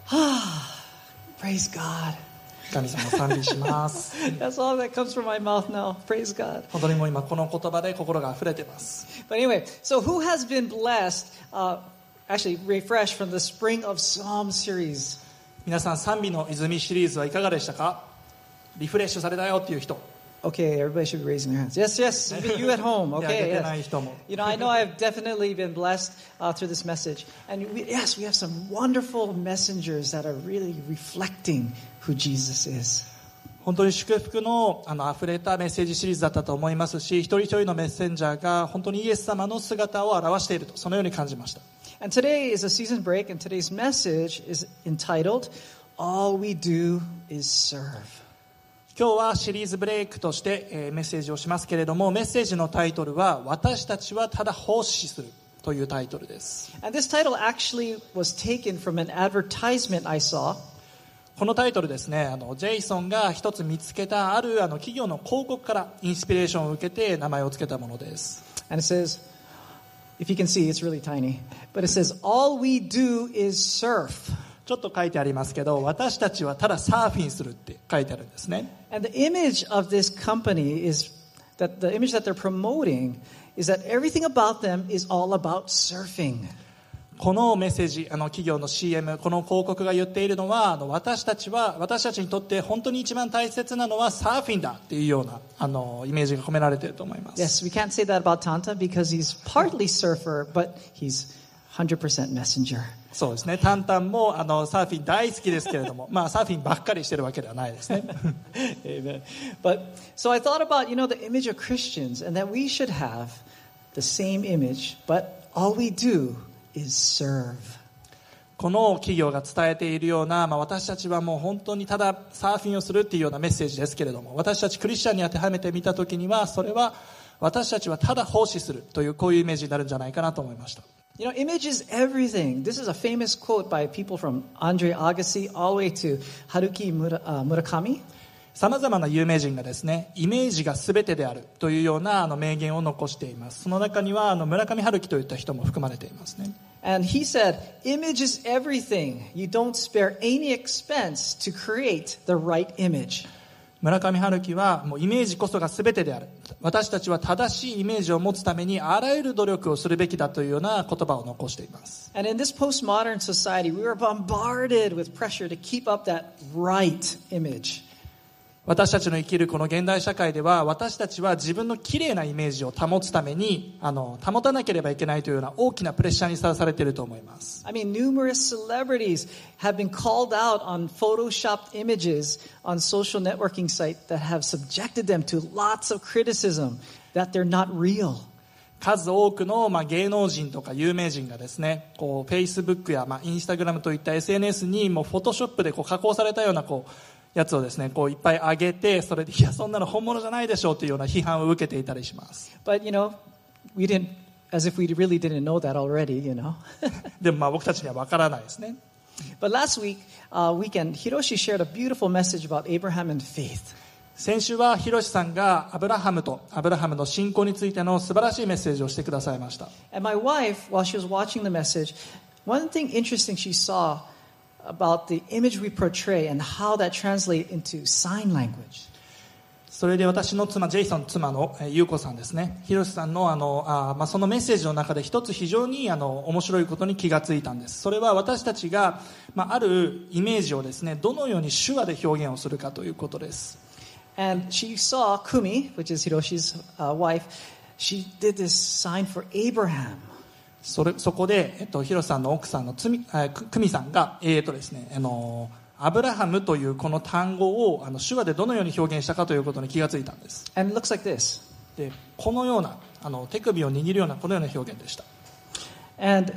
Praise God. 神様を賛美します。 That's all that comes from my mouth now. Praise God. 本当にもう今この言葉で心が溢れています。 But anyway, so who has been blessed, actually refreshed from the Spring of Psalm series? 皆さん賛美の泉シリーズはいかがでしたか？リフレッシュされたよっていう人。 Okay, everybody should be raising their hands. Yes, yes, even you at home. Okay, yes. You know, I know I've definitely been blessed through this message. And we have some wonderful messengers that are really reflecting who Jesus is. 本当に祝福の溢れたメッセージシリーズだったと思いますし、一人一人のメッセンジャーが本当にイエス様の姿を表していると、そのように感じました。 And today is a season break, and today's message is entitled, All We Do is Serve. 今日はシリーズブレイクとしてメッセージをしますけれども、メッセージのタイトルは私たちはただ奉仕するというタイトルです。 And this title actually was taken from an advertisement I saw. このタイトルですね、ジェイソンが一つ見つけたある企業の広告からインスピレーションを受けて名前を付けたものです。 And it says, if you can see, it's really tiny, but it says, All we do is surf. ちょっと書いてありますけど、私たちはただサーフィンするって書いてあるんですね。 And the image of this company is that the image that they're promoting is that everything about them is all about surfing. このメッセージ、企業の CM、この広告が言っているのは、私たちにとって本当に一番大切なのはサーフィンだっていうようなイメージが込められていると思います。 Yes, we can't say that about Tanta because he's partly surfer, but he's 100% messenger. そうですね。タンタンもサーフィン大好きですけれども、まあサーフィンばっかりしてるわけではないですね。 Amen. But so I thought about, the image of Christians and that we should have the same image, but all we do is serve. この企業が伝えているような、私たちはもう本当にただサーフィンをするっていうようなメッセージですけれども、私たちクリスチャンに当てはめてみたときには、それは私たちはただ奉仕するというこういうイメージになるんじゃないかなと思いました。 Image is everything. This is a famous quote by people from Andre Agassi all the way to Haruki Murakami. さまざまな有名人がですね、イメージが全てであるというような名言を残しています。その中には村上春樹といった人も含まれていますね。 And he said, image is everything. You don't spare any expense to create the right image. 村上春樹はもうイメージこそが全てである。私たちは正しいイメージを持つためにあらゆる努力をするべきだというような言葉を残しています。 And in this postmodern society, we are bombarded with pressure to keep up that right image. 私たちの生きるこの現代社会では、私たちは自分の綺麗なイメージを保つために保たなければいけないというような大きなプレッシャーにさらされていると思います。 I mean, numerous celebrities have been called out on photoshopped images on social networking sites that have subjected them to lots of criticism that they're not real. 数多くの芸能人とか有名人がですね、こう Facebook やInstagram といった SNS にもうフォトショップでこう加工されたようなやつをですね、こういっぱい上げて、それでいやそんなの本物じゃないでしょうというような批判を受けていたりします。 But we didn't, as if we really didn't know that already, でも僕たちにはわからないですね。 But last weekend, Hiroshi shared a beautiful message about Abraham and faith. 先週はヒロシさんがアブラハムの信仰についての素晴らしいメッセージをしてくださいました。 And my wife, while she was watching the message, one thing interesting she saw about the image we portray and how that translates into sign language. それで私の妻、ジェイソン妻の優子さんですね、ヒロシさんのそのメッセージの中で一つ非常に面白いことに気がついたんです。それは私たちが、あるイメージをですね、どのように手話で表現をするかということです。 And she saw Kumi, which is Hiroshi's wife, she did this sign for Abraham. そこで、ヒロさんの奥さんのクミさんが、ですね、アブラハムというこの単語を手話でどのように表現したかということに気がついたんです。 And it looks like this. で、このような手首を握るようなこのような表現でした。 And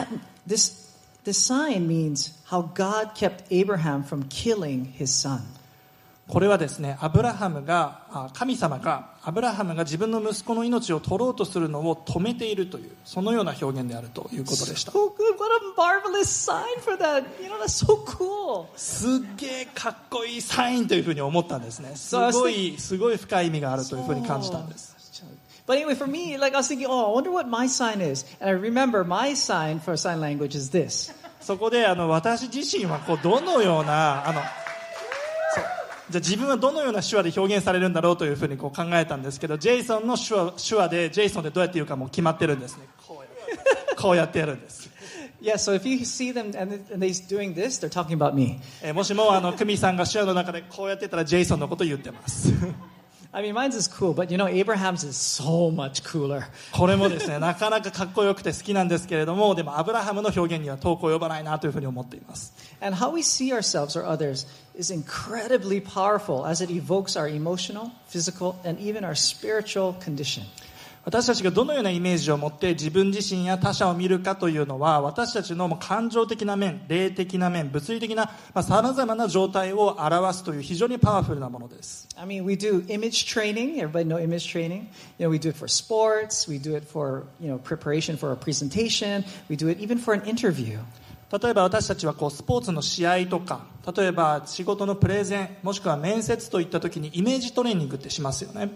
this sign means how God kept Abraham from killing his son. これはですね、神様がアブラハムが自分の息子の命を取ろうとするのを止めているという、そのような表現であるということでした。 So good. What a marvelous sign for that. That's so cool. すっげえかっこいいサインというふうに思ったんですね。すごい深い意味があるというふうに感じたんです。 But anyway, for me, I was thinking, I wonder what my sign is. And I remember my sign for sign language is this. そこで私自身はどのようなじゃあ自分はどのような手話で表現されるんだろうというふうに考えたんですけど、ジェイソンの手話でジェイソンでどうやって言うかもう決まってるんですね。こうやってやるんです。 Yeah, so if you see them and they're doing this, they're talking about me. もしもクミさんが手話の中でこうやってたらジェイソンのことを言ってます。 I mean, mine's is cool, but Abraham's is so much cooler. これもですね、なかなかかっこよくて好きなんですけれども、でもアブラハムの表現には遠く及ばないなというふうに思っています。 And how we see ourselves or others is incredibly powerful as it evokes our emotional, physical, and even our spiritual condition. 私たちがどのようなイメージを持って自分自身や他者を見るかというのは、私たちの感情的な面、霊的な面、物理的なさまざまな状態を表すという非常にパワフルなものです。 I mean, we do image training. Everybody know image training. We do it for sports. We do it for, preparation for a presentation. We do it even for an interview. 例えば私たちはスポーツの試合とか、例えば仕事のプレゼン、もしくは面接といった時にイメージトレーニングってしますよね。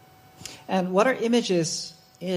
And what our images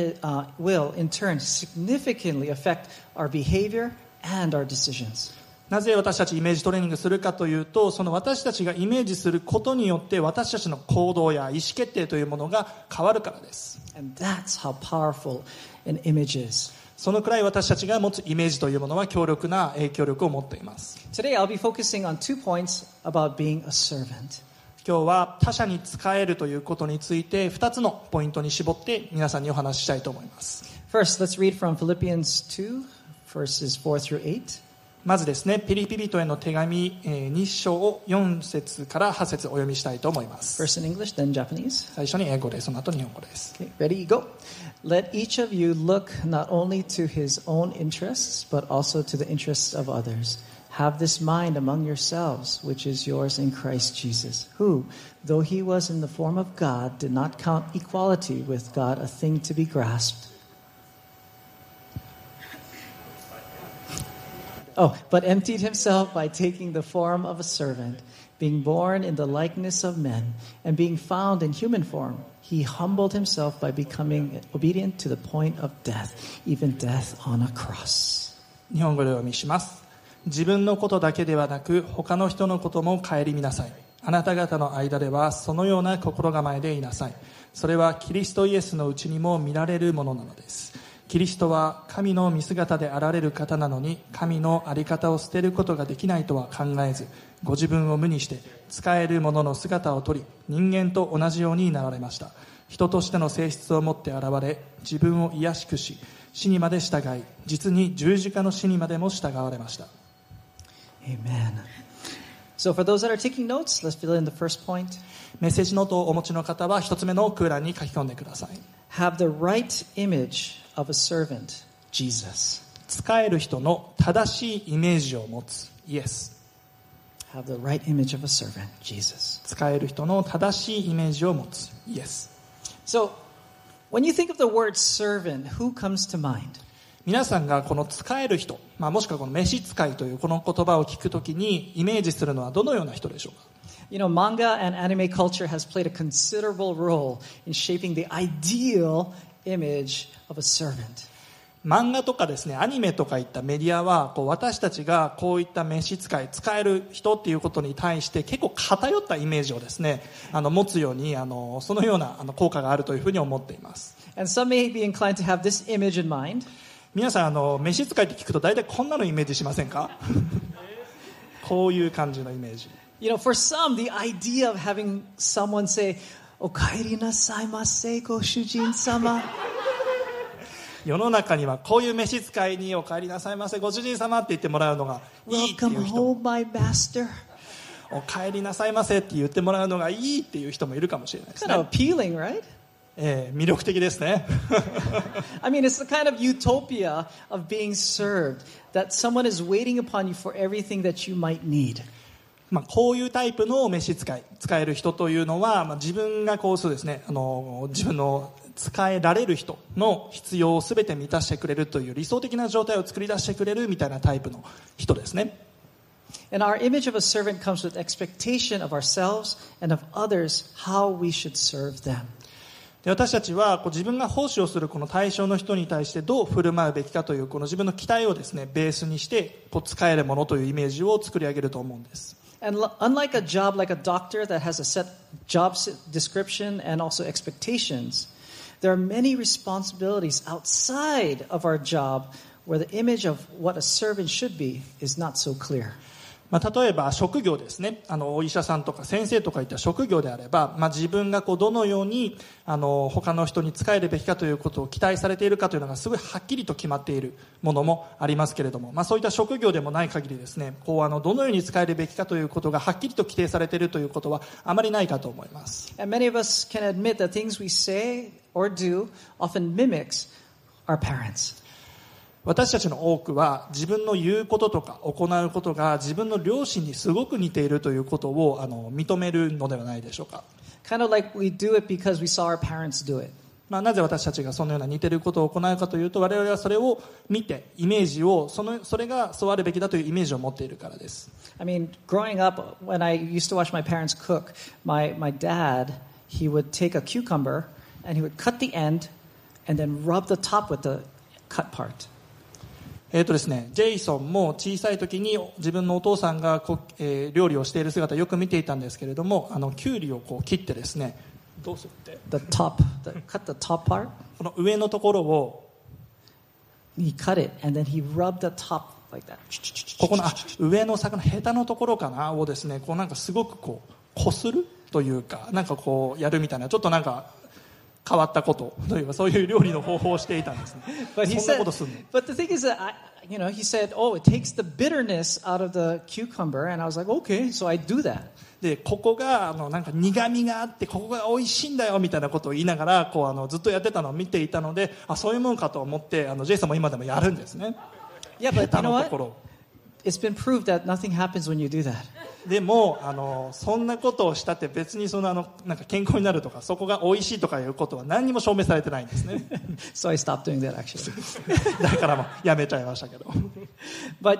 will, in turn, significantly affect our behavior and our decisions. なぜ私たちイメージトレーニングするかというと、その私たちがイメージすることによって私たちの行動や意思決定というものが変わるからです。 And that's how powerful an image is. そのくらい私たちが持つイメージというものは強力な影響力を持っています。 Today I'll be focusing on 2 points about being a servant. 今日は他者に仕えるということについて2つのポイントに絞って皆さんにお話ししたいと思います。 First, let's read from Philippians 2, verses 4 through 8. まずですね、ピリピ人への手紙2章4節から8節お読みしたいと思います。 First in English, then Japanese. 最初に英語で、その後日本語です。 Okay, ready, go. Let each of you look not only to his own interests, but also to the interests of others.Have this mind among yourselves, which is yours in Christ Jesus, who, though he was in the form of God, did not count equality with God a thing to be grasped. But emptied himself by taking the form of a servant, being born in the likeness of men, and being found in human form, he humbled himself by becoming obedient to the point of death, even death on a cross. 日本語でお読みします。自分のことだけではなく他の人のことも顧みなさい。あなた方の間ではそのような心構えでいなさい。それはキリストイエスのうちにも見られるものなのです。キリストは神の見姿であられる方なのに、神の在り方を捨てることができないとは考えず、ご自分を無にして仕える者の姿をとり、人間と同じようになられました。人としての性質を持って現れ、自分を卑しくし、死にまで従い、実に十字架の死にまでも従われました。 Amen. So for those that are taking notes, let's fill in the first point. メッセージノートをお持ちの方は一つ目の空欄に書き込んでください。 Have the right image of a servant, Jesus. 仕える人の正しいイメージを持つ、イエス。 Have the right image of a servant, Jesus. 仕える人の正しいイメージを持つ、イエス。 So, when you think of the word servant, who comes to mind? 皆さんがこの使える人、もしくはこの召使いというこの言葉を聞くときにイメージするのはどのような人でしょうか。 Manga and anime culture has played a considerable role in shaping the ideal image of a servant. 漫画とかですね、アニメとかいったメディアは私たちがこういった召使い、使える人っていうことに対して結構偏ったイメージをですね、持つようにそのような効果があるというふうに思っています。 And some may be inclined to have this image in mind. 皆さん召使いって聞くと大体こんなのイメージしませんか？こういう感じのイメージ。 For some, the idea of having someone say, お帰りなさいませ、ご主人様。 世の中にはこういう召使いにお帰りなさいませ、ご主人様って言ってもらうのがいいっていう人。 Welcome home, my master. お帰りなさいませって言ってもらうのがいいっていう人もいるかもしれないですね。 Kind of appealing, right? 魅力的ですね。 I mean, it's the kind of utopia of being served, that someone is waiting upon you for everything that you might need. こういうタイプの召使い、使える人というのは、自分がそうですね、自分の使えられる人の必要をすべて満たしてくれるという理想的な状態を作り出してくれるみたいなタイプの人ですね。 And our image of a servant comes with expectation of ourselves and of others how we should serve them. で私たちは自分が奉仕をするこの対象の人に対してどう振る舞うべきかというこの自分の期待をですねベースにして使えるものというイメージを作り上げると思うんです。 And unlike a job like a doctor that has a set job description and also expectations, there are many responsibilities outside of our job where the image of what a servant should be is not so clear. 例えば職業ですね。お医者さんとか先生とかいった職業であれば、自分がどのように他の人に仕えるべきかということを期待されているかというのがすごいはっきりと決まっているものもありますけれども、そういった職業でもない限りですね、どのように仕えるべきかということがはっきりと規定されているということはあまりないかと思います。 And many of us can admit that things we say or do often mimics our parents. 私たちの多くは自分の言うこととか行うことが自分の両親にすごく似ているということを認めるのではないでしょうか。 Kind of like we do it because we saw our parents do it. なぜ私たちがそのような似ていることを行うかというと、我々はそれを見てイメージをそれがそうあるべきだというイメージを持っているからです。 I mean, growing up, when I used to watch my parents cook, my dad, he would take a cucumber and he would cut the end and then rub the top with the cut part. ですね、ジェイソンも小さい時に自分のお父さんが料理をしている姿をよく見ていたんですけれども、キュウリを切ってですね、どうするって cut the top part? この上のところを He cut it and then he rubbed the top like that. ここの上の魚ヘタのところかなをですね、なんかすごくこするというか、なんかやるみたいな、ちょっとなんか変わったことというか、そういう料理の方法をしていたんですね。 But he そんなことするの。 But the thing is that he said, "Oh, it takes the bitterness out of the cucumber," and I was like, "Okay, so I do that." でここがなんか苦味があってここが美味しいんだよみたいなことを言いながらずっとやってたのを見ていたので、そういうもんかと思ってジェイさんも今でもやるんですね。 Yeah, but you know what? It's been proved that nothing happens when you do that. でもそんなことをしたって別になんか健康になるとかそこが美味しいとかいうことは何にも証明されてないんですね。 So I stopped doing that actually. だからもうやめちゃいましたけど。 But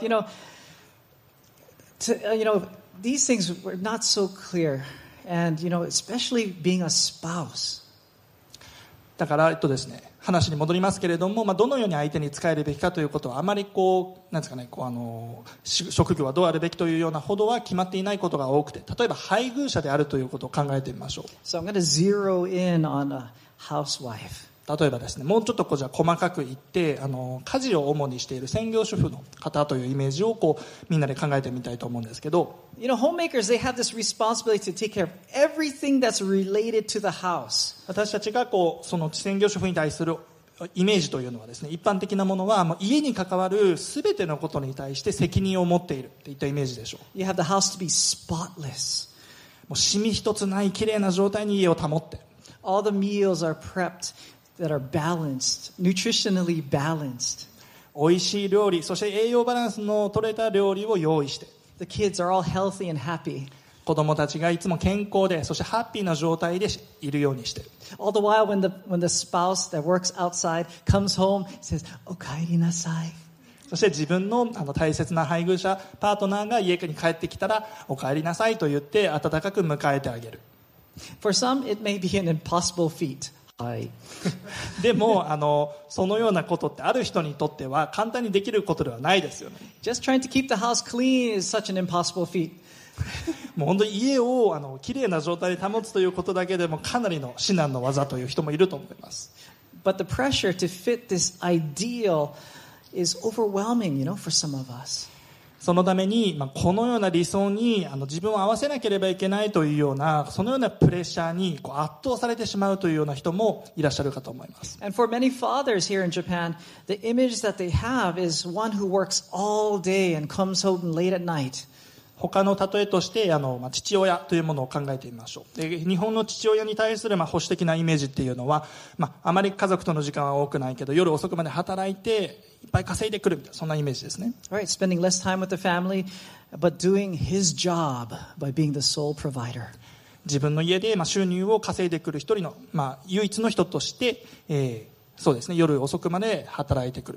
these things were not so clear, and especially being a spouse. だからですね、話に戻りますけれども、どのように相手に仕えるべきかということはあまりなんですかね、職業はどうあるべきというようなほどは決まっていないことが多くて、例えば配偶者であるということを考えてみましょう。 So I'm going to zero in on a housewife. 例えばですね、もうちょっとじゃあ細かく言って家事を主にしている専業主婦の方というイメージをみんなで考えてみたいと思うんですけど、 homemakers, they have this responsibility to take care of everything that's related to the house. 私たちがその専業主婦に対するイメージというのはですね、一般的なものは家に関わるすべてのことに対して責任を持っているといったイメージでしょう。 You have the house to be spotless. もうシミ一つない綺麗な状態に家を保って。 All the meals are prepped.That are balanced, nutritionally balanced. 美味しい料理、そして栄養バランスの取れた料理を用意して。 The kids are all healthy and happy. 子供たちがいつも健康で、そしてハッピーな状態でいるようにして。 All the while, when the spouse that works outside comes home, says, "O kaeri nasai." そして自分の大切な配偶者、パートナーが家に帰ってきたら、お帰りなさいと言って温かく迎えてあげる。 For some, it may be an impossible feat. でもそのようなことってある人にとっては簡単にできることではないですよね。 Just trying to keep the house clean is such an impossible feat. もう本当に家をきれいな状態で保つということだけでもかなりの至難の技という人もいると思います。 But the pressure to fit this ideal is overwhelming, for some of us. そのために、このような理想に自分を合わせなければいけないというようなそのようなプレッシャーに圧倒されてしまうというような人もいらっしゃるかと思います。 And for many fathers here in Japan, the image that they have is one who works all day and comes home late at night. 他の例えとして父親というものを考えてみましょう。で日本の父親に対する保守的なイメージっていうのは、あまり家族との時間は多くないけど夜遅くまで働いていっぱい稼いでくるみたいなそんなイメージですね。 Right, spending less time with the family, but doing his job by being the sole provider. 自分の家で収入を稼いでくる一人の、唯一の人として、そうですね、夜遅くまで働いてくる。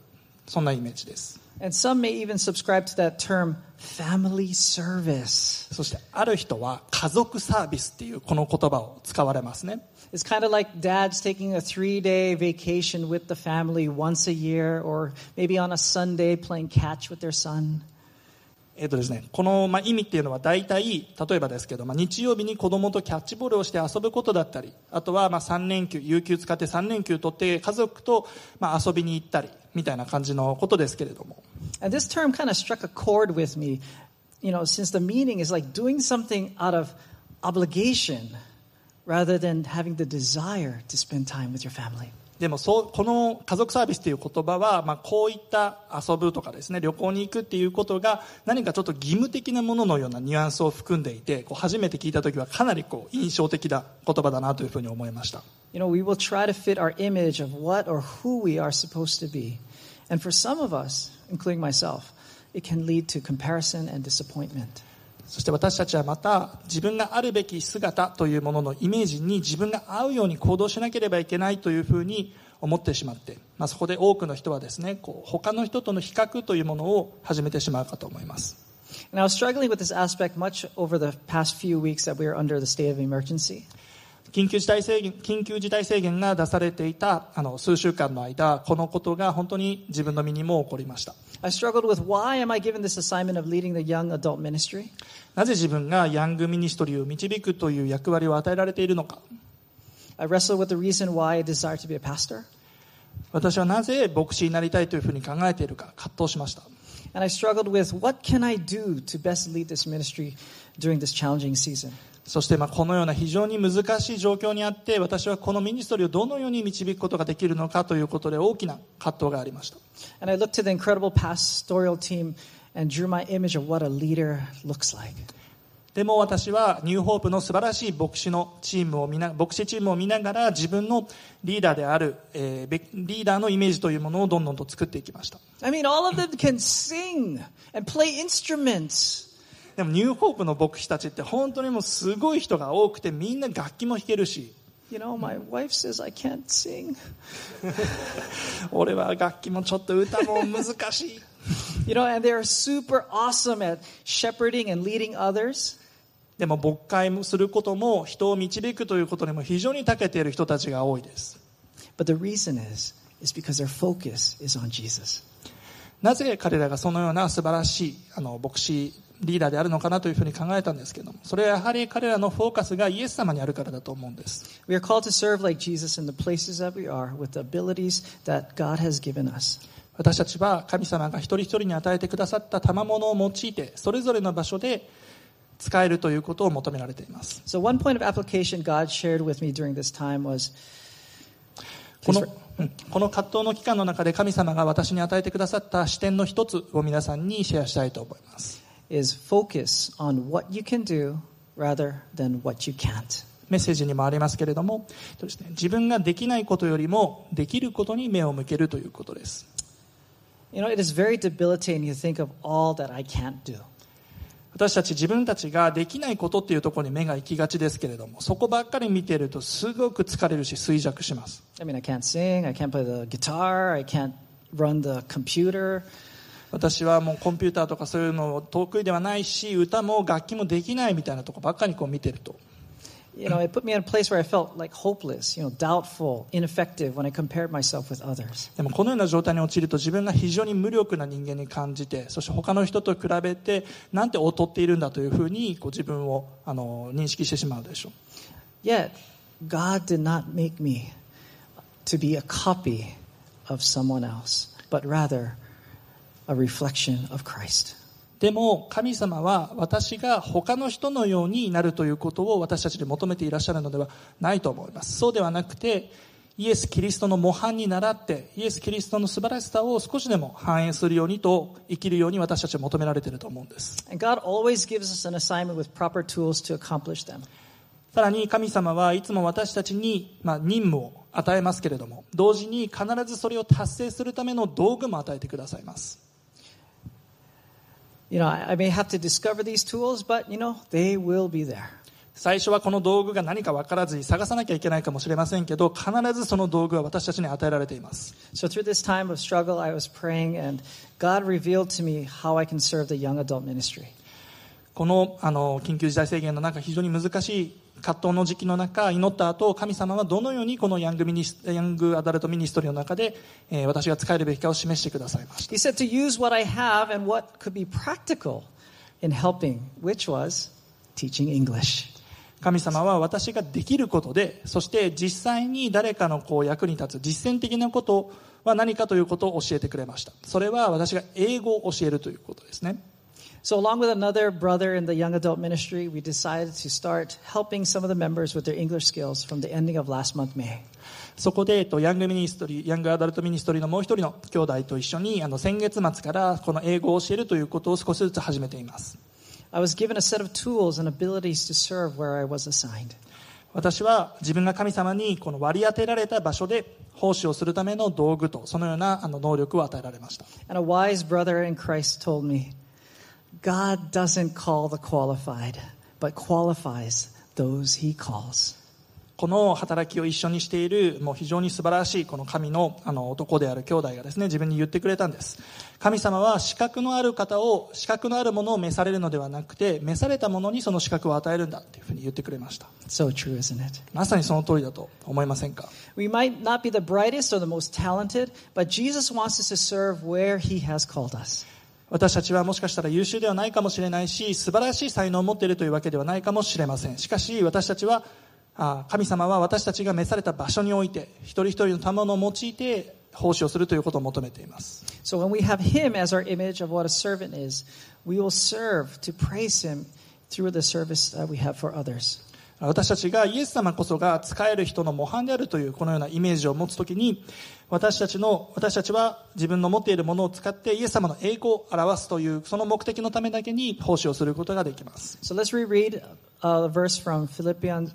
そんなイメージです。 And some may even subscribe to that term family service. そしてある人は家族サービスっていうこの言葉を使われますね。 It's kind of like dads taking a 3-day vacation with the family once a year, or maybe on a Sunday playing catch with their son. ですね、この意味っていうのは大体例えばですけど、日曜日に子供とキャッチボールをして遊ぶことだったり、あとは3連休有給使って3連休取って家族と遊びに行ったりみたいな感じのことですけれども。 And this term kind of struck a chord with me, since the meaning is like doing something out of obligation.Rather than having the desire to spend time with your family. でもこの家族サービスという言葉は、こういった遊ぶとかですね、旅行に行くっていうことが何かちょっと義務的なもののようなニュアンスを含んでいて、初めて聞いたときはかなり印象的な言葉だなというふうに思いました。 We will try to fit our image of what or who we are supposed to be. And for some of us, including myself, it can lead to comparison and disappointment. そして私たちはまた自分があるべき姿というもののイメージに自分が合うように行動しなければいけないというふうに思ってしまって、そこで多くの人はですね、他の人との比較というものを始めてしまうかと思います。 And I was struggling with this aspect much over the past few weeks that we were under the state of emergency. 緊急事態宣言が出されていた数週間の間、このことが本当に自分の身にも起こりました。 I struggled with why am I given this assignment of leading the young adult ministry? なぜ自分がヤングミニストリーを導くという役割を与えられているのか。 I wrestled with the reason why I desire to be a pastor. 私はなぜ牧師になりたいというふうに考えているか葛藤しました。 And I struggled with what can I do to best lead this ministry during this challenging season. そしてこのような非常に難しい状況にあって、私はこのミニストリーをどのように導くことができるのかということで大きな葛藤がありました。 And I looked to the incredible pastoral team and drew my image of what a leader looks like. でも私はニューホープの素晴らしい牧師チームを見ながら自分のリーダーである、リーダーのイメージというものをどんどんと作っていきました。 I mean, all of them can sing and play instruments. でもニューホープの牧師たちって本当にもうすごい人が多くて、みんな楽器も弾けるし、 my wife says I can't sing. 俺は楽器もちょっと歌も難しい。 and they are super awesome at shepherding and leading others. でも牧会することも人を導くということにも非常に長けている人たちが多いです。 But the reason is because their focus is on Jesus. なぜ彼らがそのような素晴らしい牧師リーダーであるのかなというふうに考えたんですけれども、それはやはり彼らのフォーカスがイエス様にあるからだと思うんです。 We are called to serve like Jesus in the places that we are with the abilities that God has given us. 私たちは神様が一人一人に与えてくださった賜物を用いてそれぞれの場所で使えるということを求められています。 So one point of application God shared with me during this time was この葛藤の期間の中で神様が私に与えてくださった視点の一つを皆さんにシェアしたいと思います。 is focus on what you can do rather than what you can't. メッセージにもありますけれども、自分ができないことよりもできることに目を向けるということです。 It is very debilitating to think of all that I can't do. 私たち自分たちができないことっていうところに目が行きがちですけれども、そこばっかり見ているとすごく疲れるし衰弱します。 I mean, I can't sing, I can't play the guitar, I can't run the computer. 私はもうコンピューターとかそういうの得意ではないし、歌も楽器もできないみたいなところばっかり見てると。 It put me in a place where I felt like hopeless, doubtful, ineffective when I compared myself with others. でもこのような状態に陥ると自分が非常に無力な人間に感じて、そして他の人と比べてなんて劣っているんだというふうに自分を認識してしまうでしょう。 Yet, God did not make me to be a copy of someone else, but rather a reflection of Christ. でも神様は私が他の人のようになるということを私たちに求めていらっしゃるのではないと思います。そうではなくて、イエス・キリストの模範に倣ってイエス・キリストの素晴らしさを少しでも反映するようにと生きるように私たちは求められていると思うんです。 And God always gives us an assignment with proper tools to accomplish them. さらに神様はいつも私たちに任務を与えますけれども、同時に必ずそれを達成するための道具も与えてくださいます。 I may have to discover these tools, but, they will be there. 最初はこの道具が何か分からずに探さなきゃいけないかもしれませんけど、必ずその道具は私たちに与えられています。 So through this time of struggle, I was praying, and God revealed to me how I can serve the young adult ministry. この緊急事態宣言の中、非常に難しい葛藤の時期の中、祈った後、神様はどのようにこのヤングアダルトミニストリーの中で、私が使えるべきかを示してくださいました。 He said to use what I have and what could be practical in helping, which was teaching English. 神様は私ができることで、そして実際に誰かの役に立つ実践的なことは何かということを教えてくれました。それは私が英語を教えるということですね。 So along with another brother in the young adult ministry, we decided to start helping some of the members with their English skills from the ending of last month, May. そこでヤングアダルトミニストリーのもう一人の兄弟と一緒に先月末からこの英語を教えるということを少しずつ始めています。 I was given a set of tools and abilities to serve where I was assigned. 私は自分が神様にこの割り当てられた場所で奉仕をするための道具とそのような能力を与えられました。 And a wise brother in Christ told me, God doesn't call the qualified, but qualifies those he calls. この働きを一緒にしているもう非常に素晴らしいこの神の男である兄弟がですね、自分に言ってくれたんです。神様は資格のあるものを召されるのではなくて、召されたものにその資格を与えるんだというふうに言ってくれました。 So true, isn't it? まさにその通りだと思いませんか？ We might not be the brightest or the most talented, but Jesus wants us to serve where he has called us. 私たちはもしかしたら優秀ではないかもしれないし、素晴らしい才能を持っているというわけではないかもしれません。しかし私たちは神様は私たちが召された場所において一人一人の賜物を用いて奉仕をするということを求めています。 So when we have him as our image of what a servant is, we will serve to praise him through the service that we have for others. 私たちがイエス様こそが使える人の模範であるというこのようなイメージを持つときに、私たちは自分の持っているものを使ってイエス様の栄光を表すというその目的のためだけに奉仕をすることができます。 So let's reread a verse from Philippians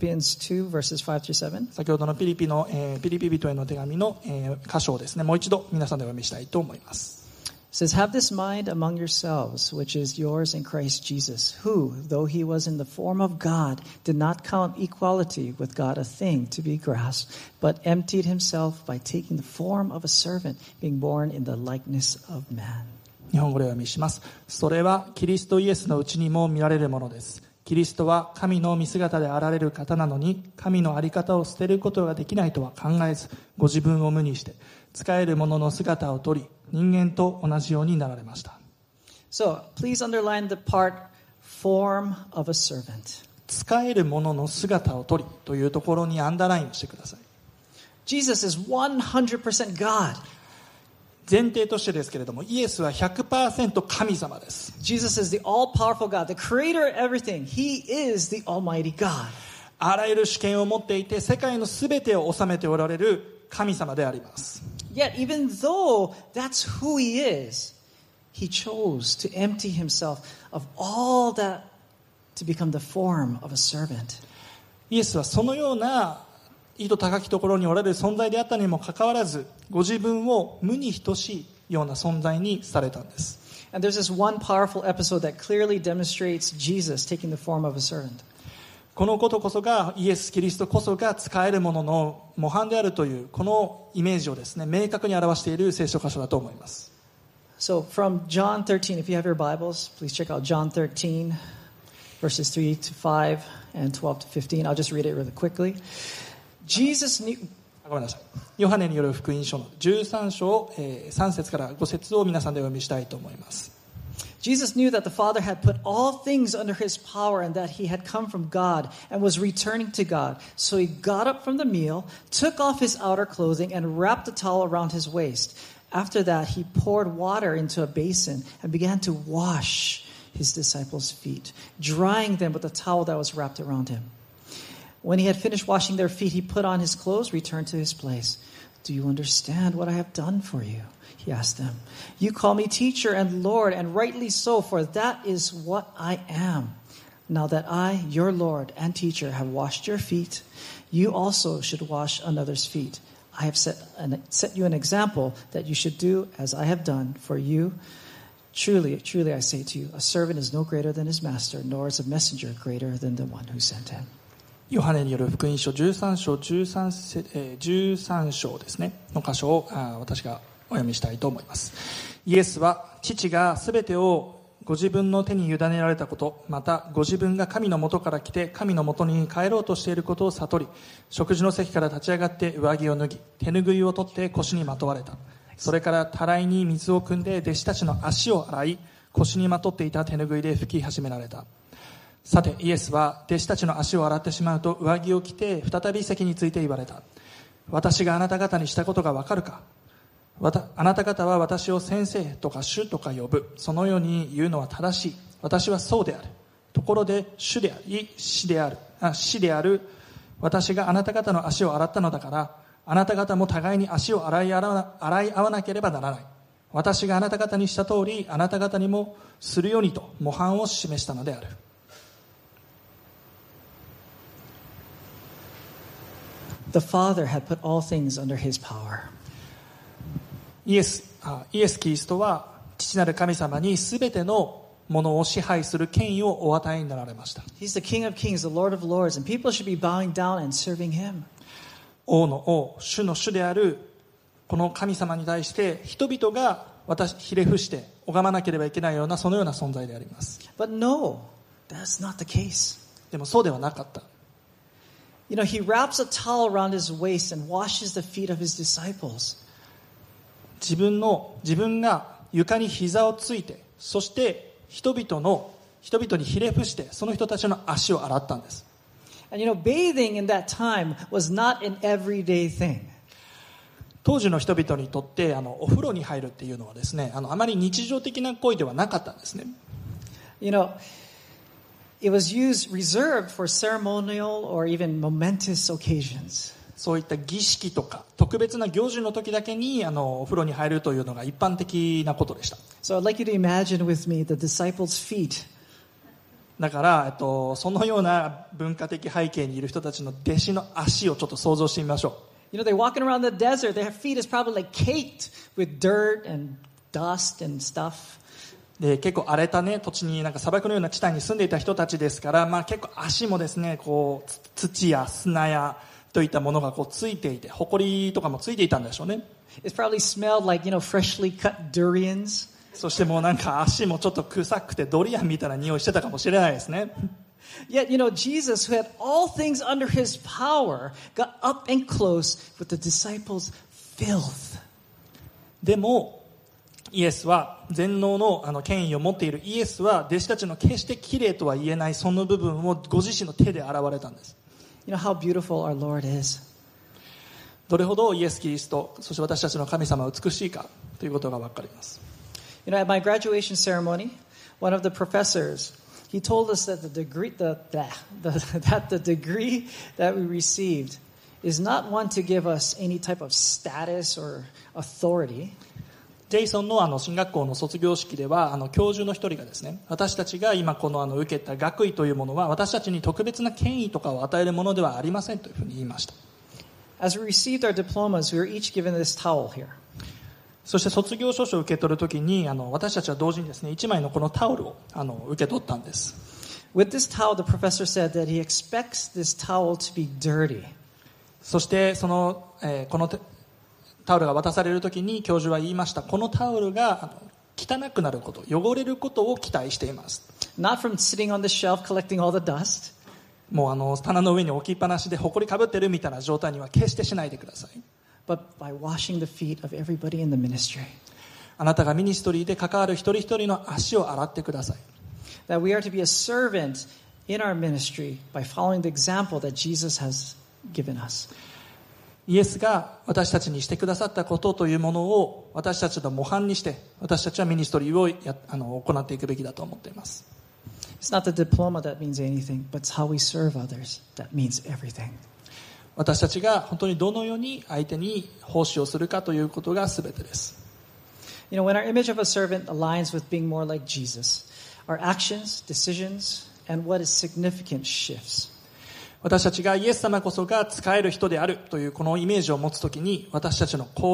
2 verses 5 through 7. 先ほどのピリピ人への手紙の箇所をですね、もう一度皆さんでお読みしたいと思います。 It says, Have this mind among yourselves, which is yours in Christ Jesus, who, though he was in the form of God, did not count equality with God a thing to be grasped, but emptied himself by taking the form of a servant, being born in the likeness of man. 日本語でお読みします。それはキリストイエスのうちにも見られるものです。キリストは神の見姿であられる方なのに、神の在り方を捨てることができないとは考えず、ご自分を無にして使えるものの姿をとり、人間と同じようになられました。 So, please underline the part, form of a servant. 使えるものの姿をとりというところにアンダーラインをしてください。 Jesus is 100% God. 前提としてですけれども、イエスは 100% 神様です。 Jesus is the all-powerful God, the creator of everything. He is the almighty God. あらゆる主権を持っていて、世界のすべてを治めておられる神様であります。 Yet, even though that's who he is, he chose to empty himself of all that to become the form of a servant. イエスはそのような意図高きところにおられる存在であったにもかかわらず、ご自分を無に等しいような存在にされたんです。 And there's this one powerful episode that clearly demonstrates Jesus taking the form of a servant. このことこそがイエス・キリストこそが使えるものの模範であるというこのイメージをですね、明確に表している聖書箇所だと思います。 So from John 13, if you have your Bibles, please check out John 13, verses 3 to 5 and 12 to 15. I'll just read it really quickly. Jesus knew... ごめんなさい。ヨハネによる福音書の13章3節から5節を皆さんでお読みしたいと思います。 Jesus knew that the Father had put all things under his power and that he had come from God and was returning to God. So he got up from the meal, took off his outer clothing, and wrapped a towel around his waist. After that, he poured water into a basin and began to wash his disciples' feet, drying them with a towel that was wrapped around him. When he had finished washing their feet, he put on his clothes, returned to his place. Do you understand what I have done for you? He asked them. You call me teacher and Lord, and rightly so, for that is what I am. Now that I, your Lord and teacher, have washed your feet, you also should wash another's feet. I have set you an example that you should do as I have done for you. Truly, truly I say to you, a servant is no greater than his master, nor is a messenger greater than the one who sent him. ヨハネによる福音書13章ですねの箇所を私がお読みしたいと思います。イエスは父がすべてをご自分の手に委ねられたこと、またご自分が神の元から来て神の元に帰ろうとしていることを悟り、食事の席から立ち上がって上着を脱ぎ、手拭いを取って腰にまとわれた。それからたらいに水を汲んで弟子たちの足を洗い、腰にまとっていた手拭いで拭き始められた。さてイエスは弟子たちの足を洗ってしまうと上着を着て再び席について言われた。私があなた方にしたことがわかるか。あなた方は私を先生とか主とか呼ぶ。そのように言うのは正しい。私はそうである。ところで主であり死である私があなた方の足を洗ったのだから、あなた方も互いに足を洗い合わなければならない。私があなた方にした通りあなた方にもするようにと模範を示したのである。 The Father had put all things under his power. イエス・キリストは父なる神様に全てのものを支配する権威をお与えになられました。 He's the King of Kings, the Lord of Lords, and people should be bowing down and serving him. 王の王、主の主であるこの神様に対して人々がひれ伏して拝まなければいけないようなそのような存在であります。 But no, that's not the case. でもそうではなかった。 You know, he wraps a towel around his waist and washes the feet of his disciples. 自分が床に膝をついて、そして人々にひれ伏してその人たちの足を洗ったんです。 And you know, bathing in that time was not an everyday thing. 当時の人々にとってお風呂に入るっていうのはですね、あまり日常的な行為ではなかったんですね。 You know, it was reserved for ceremonial or even momentous occasions. そういった儀式とか特別な行事の時だけにお風呂に入るというのが一般的なことでした。 So I'd like you to imagine with me the disciples' feet. だからそのような文化的背景にいる人たちの弟子の足をちょっと想像してみましょう。You know, they're walking around the desert. Their feet is probably like caked with dirt and dust and stuff. で結構荒れたね土地に砂漠のような地帯に住んでいた人たちですから、結構足もですねこう土や砂やといったものがこうついていて、埃とかもついていたんでしょうね。 It probably smelled like, freshly cut durians. そしてもう足もちょっと臭くてドリアンみたいな匂いしてたかもしれないですね。 Yet, Jesus, who had all things under his power, got up and close with the disciples' filth. でもイエスは全能の権威を持っているイエスは弟子たちの決して綺麗とは言えないその部分をご自身の手で洗われたんです。 You know how beautiful our Lord is. どれほどイエス・キリスト、そして私たちの神様は美しいかということが分かります。 You know, at my graduation ceremony, one of the professors, he told us that the degree that we received is not one to give us any type of status or authority. ジェイソンの進学校の卒業式では教授の一人がですね、私たちが今この受けた学位というものは私たちに特別な権威とかを与えるものではありませんというふうに言いました。 As we received our diplomas, we were each given this towel here. そして卒業証書を受け取るときに私たちは同時にですね1枚のこのタオルを受け取ったんです。 With this towel, the professor said that he expects this towel to be dirty. そしてこのタオルが渡されるときに教授は言いました。このタオルが汚くなること、汚れることを期待しています。 Not from sitting on the shelf collecting all the dust. もう棚の上に置きっぱなしで埃かぶってるみたいな状態には決してしないでください。 But by washing the feet of everybody in the ministry. あなたがミニストリーで関わる一人一人の足を洗ってください。 That we are to be a servant in our ministry by following the example that Jesus has given us. イエスが私たちにしてくださったことというものを私たちの模範にして私たちはミニストリーを行っていくべきだと思っています。 It's not the diploma that means anything, but it's how we serve others that means everything. 私たちが本当にどのように相手に奉仕をするかということが全てです。 You know, when our image of a servant aligns with being more like Jesus, our actions, decisions, and what is significant shifts. 私たちがイエス様こそが使える人であるというこのイメージを持つときに私たちの行動、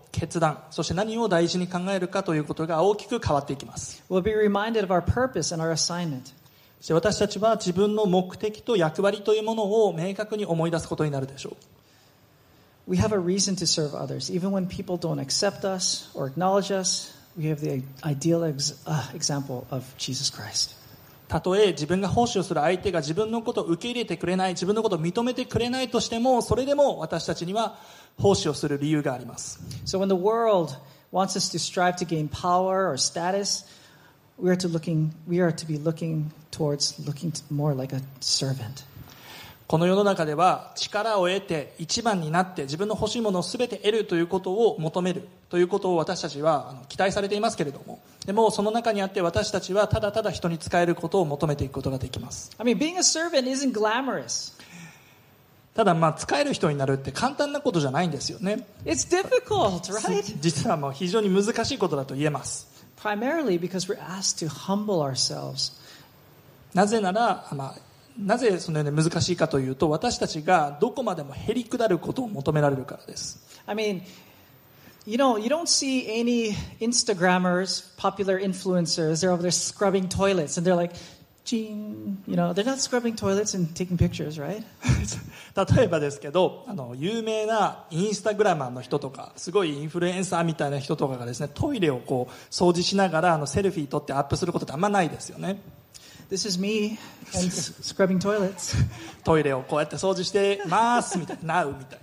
決断、そして何を大事に考えるかということが大きく変わっていきます。 We'll be reminded of our purpose and our assignment. そして私たちは自分の目的と役割というものを明確に思い出すことになるでしょう。 We have a reason to serve others. Even when people don't accept us or acknowledge us, we have the ideal example of Jesus Christ. たとえ自分が奉仕をする相手が自分のことを受け入れてくれない、自分のことを認めてくれないとしても、それでも私たちには奉仕をする理由があります。 So when the world wants us to strive to gain power or status, we are to be looking more like a servant. この世の中では力を得て一番になって自分の欲しいものを全て得るということを求めるということを私たちは期待されていますけれども、でもその中にあって私たちはただただ人に仕えることを求めていくことができます。 I mean, being a servant isn't glamorous. ただ仕える人になるって簡単なことじゃないんですよね。 It's difficult, right? 実は非常に難しいことだと言えます。 Primarily because we're asked to humble ourselves. なぜなら、なぜそのように難しいかというと、私たちがどこまでもへりくだることを求められるからです。 I mean, you don't see any Instagrammers, popular influencers, they're over there scrubbing toilets and they're like, they're not scrubbing toilets and taking pictures, right? 例えばですけど、有名なインスタグラマーの人とか、すごいインフルエンサーみたいな人とかがですね、トイレを掃除しながらセルフィー撮ってアップすることってあんまないですよね。 This is me and scrubbing toilets. トイレをこうやって掃除してますみたいな、Now みたい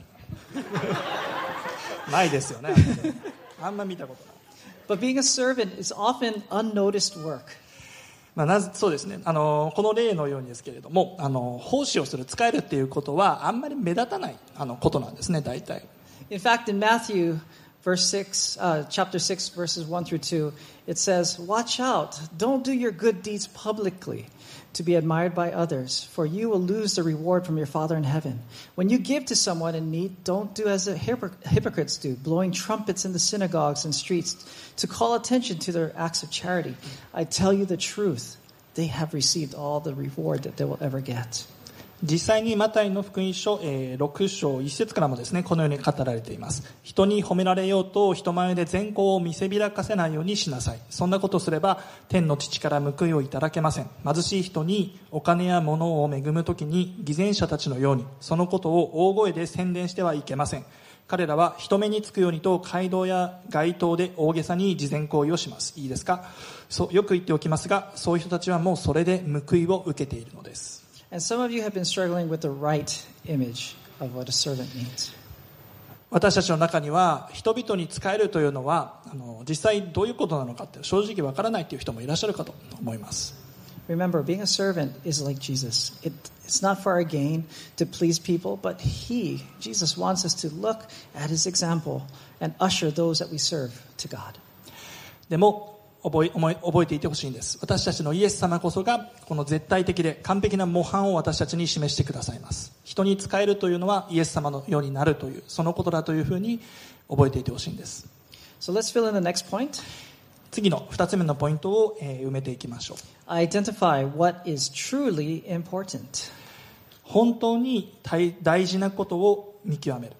な。ないですよね。あんま見たことない。 But being a servant is often unnoticed work. そうですね。この例のようにですけれども、奉仕をする、仕えるっていうことはあんまり目立たないことなんですね、大体。 In fact, in Matthew chapter 6, verses 1 through 2, it says, "Watch out, don't do your good deeds publicly to be admired by others, for you will lose the reward from your Father in heaven. When you give to someone in need, don't do as the hypocrites do, blowing trumpets in the synagogues and streets to call attention to their acts of charity. I tell you the truth, they have received all the reward that they will ever get." 実際にマタイの福音書6章1節からもですね、このように語られています。人に褒められようと人前で善行を見せびらかせないようにしなさい。そんなことすれば天の父から報いをいただけません。貧しい人にお金や物を恵むときに偽善者たちのようにそのことを大声で宣伝してはいけません。彼らは人目につくようにと街道や街頭で大げさに慈善行為をします。いいですか？よく言っておきますが、そういう人たちはもうそれで報いを受けているのです。 And some of you have been struggling with the right image of what a servant means. 私たちの中には人々に仕えるというのは実際どういうことなのかって正直わからないという人もいらっしゃるかと思います。 Remember, being a servant is like Jesus. It's not for our gain to please people, but Jesus wants us to look at his example and usher those that we serve to God. でも覚えていてほしいんです。私たちのイエス様こそがこの絶対的で完璧な模範を私たちに示してくださいます。人に仕えるというのはイエス様のようになるというそのことだというふうに覚えていてほしいんです。 So let's fill in the next point. 次の2つ目のポイントを埋めていきましょう。 Identify what is truly important. 本当に大事なことを見極める。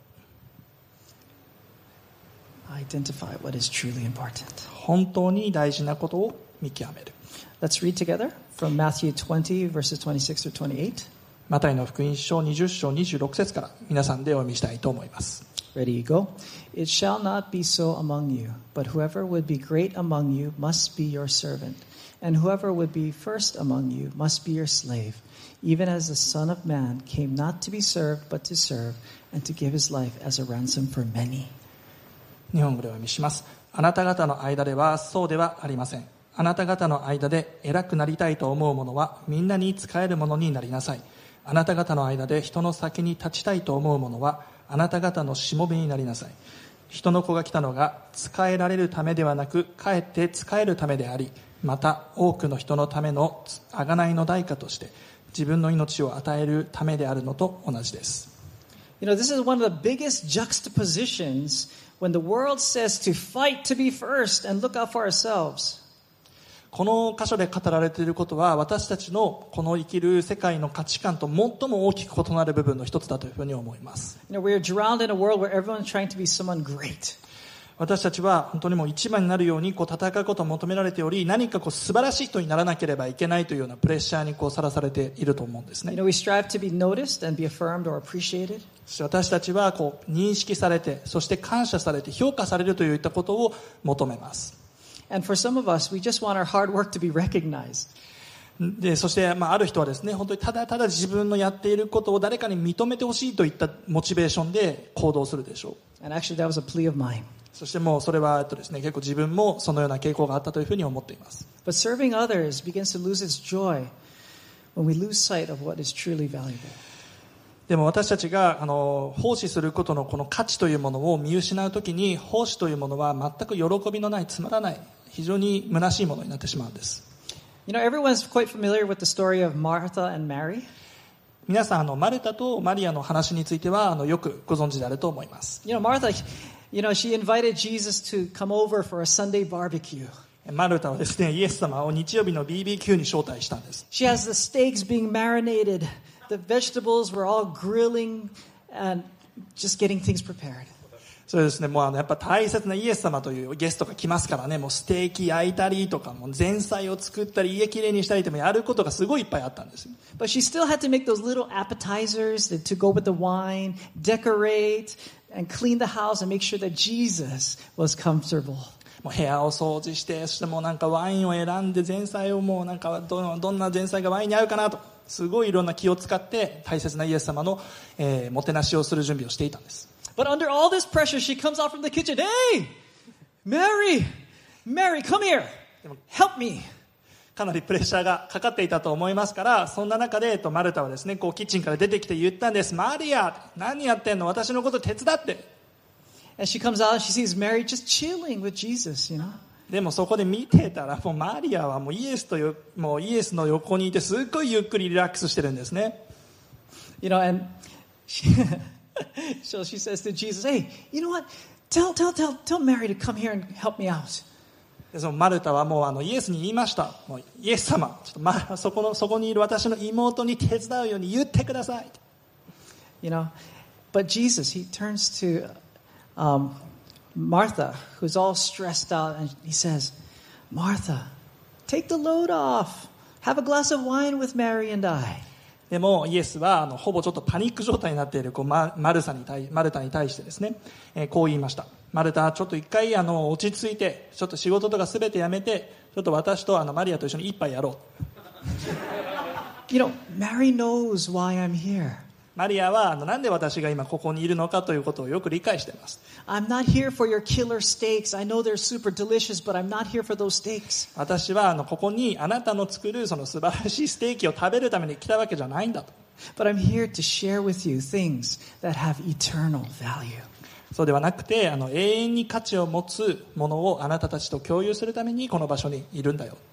Identify what is truly important. 本当に大事なことを見極める。 Let's read together from Matthew 20 verses 26 through 28. マタイの福音書20章26節から皆さんでお読みしたいと思います。 Ready, go. It shall not be so among you, but whoever would be great among you must be your servant, and whoever would be first among you must be your slave, even as the Son of Man came not to be served, but to serve, and to give his life as a ransom for many. 日本語でお読みします。あなた方の間ではそうではありません。あなた方の間で偉くなりたいと思う者はみんなに仕える者になりなさい。あなた方の間で人の先に立ちたいと思う者はあなた方のしもべになりなさい。人の子が来たのが仕えられるためではなくかえって仕えるためであり、また多くの人のための贖いの代価として自分の命を与えるためであるのと同じです。 You know, this is one of the biggest juxtapositions when the world says to fight to be first and look out for ourselves. この箇所で語られていることは私たちのこの生きる世界の価値観と最も大きく異なる部分の一つだというふうに思います。 You know, we're drowned in a world where everyone's trying to be someone great. 私たちは本当にもう一番になるように戦うことを求められており、何か素晴らしい人にならなければいけないというようなプレッシャーにさらされていると思うんですね。 We strive to be noticed and be affirmed or appreciated. そして私たちは認識されて、そして感謝されて評価されるといったことを求めます。 And for some of us, we just want our hard work to be recognized. でそして、ある人はですね、本当にただただ自分のやっていることを誰かに認めてほしいといったモチベーションで行動するでしょう。 And actually, that was a plea of mine. そしてもうそれはですね、結構自分もそのような傾向があったというふうに思っています。 But serving others begins to lose its joy when we lose sight of what is truly valuable. でも私たちが奉仕することのこの価値というものを見失うときに、奉仕というものは全く喜びのない、つまらない、非常に虚しいものになってしまうんです。 You know, everyone's quite familiar with the story of Martha and Mary. 皆さんマルタとマリアの話についてはよくご存知であると思います。 You know, Martha, she invited Jesus to come over for a Sunday barbecue. マルタはですね、イエス様を日曜日の BBQ に招待したんです。 She has the steaks being marinated. The vegetables were all grilling and just getting things prepared. そうですね、もうやっぱ大切なイエス様というゲストが来ますからね、もうステーキ焼いたりとか、もう前菜を作ったり、家きれいにしたりとか、やることがすごいいっぱいあったんです。 But she still had to make those little appetizers to go with the wine, decorate, and clean the house and make sure that Jesus was comfortable. もう部屋を掃除して、そしてもうワインを選んで、前菜をもうどんな前菜がワインに合うかなと、すごいいろんな気を使って大切なイエス様の、もてなしをする準備をしていたんです。 But under all this pressure, she comes out from the kitchen. Hey, Mary, come here. Help me. かなりプレッシャーがかかっていたと思いますから、そんな中でマルタはですね、キッチンから出てきて言ったんです。マリア、何やってんの？私のこと手伝って。 And she comes out and she sees Mary just chilling with Jesus, you know. でもそこで見てたら、もうマリアはもうイエスの横にいて、すっごいゆっくりリラックスしてるんですね。 You know, and so she says to Jesus, "Hey, you know what? Tell Mary to come here and help me out." でそのマルタはもうイエスに言いました。もうイエス様、ちょっとそこにいる私の妹に手伝うように言ってください。 You know, but Jesus, he turns to Martha, who's all stressed out, and he says, "Martha, take the load off. Have a glass of wine with Mary and I." でもイエスはほぼちょっとパニック状態になっているマルタに対してですね、こう言いました。マルタ、ちょっと一回落ち着いて、ちょっと仕事とかすべてやめて、ちょっと私とマリアと一緒に一杯やろう。You know, Mary knows why I'm here. マリアはなんで私が今ここにいるのかということをよく理解しています。 I'm not here for your killer steaks. I know they're super delicious, but I'm not here for those steaks. 私はここにあなたの作るその素晴らしいステーキを食べるために来たわけじゃないんだと。 But I'm here to share with you things that have eternal value. そうではなくて、永遠に価値を持つものをあなたたちと共有するためにこの場所にいるんだよ。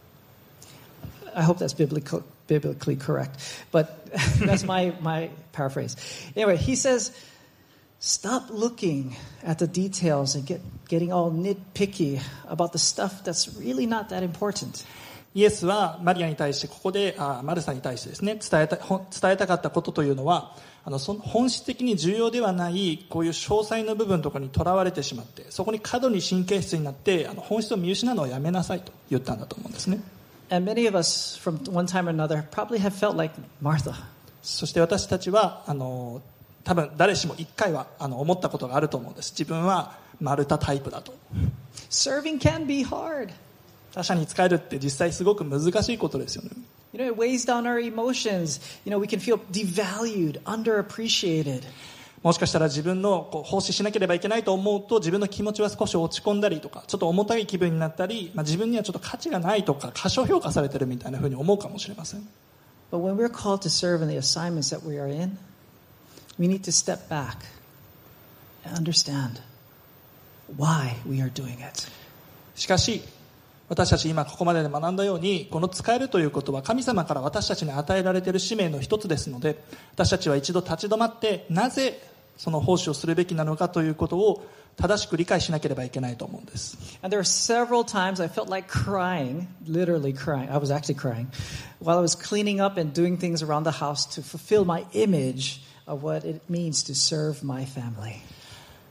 I hope that's biblically correct, but that's my paraphrase. Anyway, he says, stop looking at the details and getting all nitpicky about the stuff that's really not that important. イエスはマリアに対してここでマルサに対してですね、伝えたかったことというのは、その本質的に重要ではないこういう詳細な部分とかにとらわれてしまって、そこに過度に神経質になって本質を見失うのをやめなさいと言ったんだと思うんですね。 And many of us from one time or another probably have felt like Martha. そして私たちは多分誰しも一回は思ったことがあると思うんです。自分はマルタタイプだと。 Serving can be hard. 他者に仕えるって実際すごく難しいことですよね。 You know, it weighs down our emotions. You know, we can feel devalued, underappreciated. もしかしたら自分の奉仕しなければいけないと思うと自分の気持ちは少し落ち込んだりとか、ちょっと重たい気分になったり、自分にはちょっと価値がないとか過小評価されてるみたいなふうに思うかもしれません。 But when we're called to serve in the assignments that we are in, we need to step back and understand why we are doing it. しかし私たち今ここまでで学んだように、この使えるということは神様から私たちに与えられている使命の一つですので、私たちは一度立ち止まってなぜその奉仕をするべきなのかということを正しく理解しなければいけないと思うんです。 And there were several times I felt like crying, literally crying. I was actually crying while I was cleaning up and doing things around the house to fulfill my image of what it means to serve my family.